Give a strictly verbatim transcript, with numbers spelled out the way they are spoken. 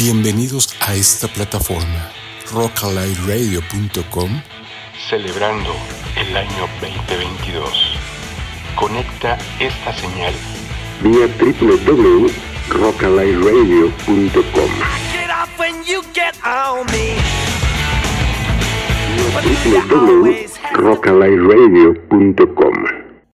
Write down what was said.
Bienvenidos a esta plataforma, rock alike radio punto com, celebrando el año veinte veintidós. Conecta esta señal vía doble u doble u doble u punto rock alike radio punto com. doble u doble u doble u punto rock alike radio punto com.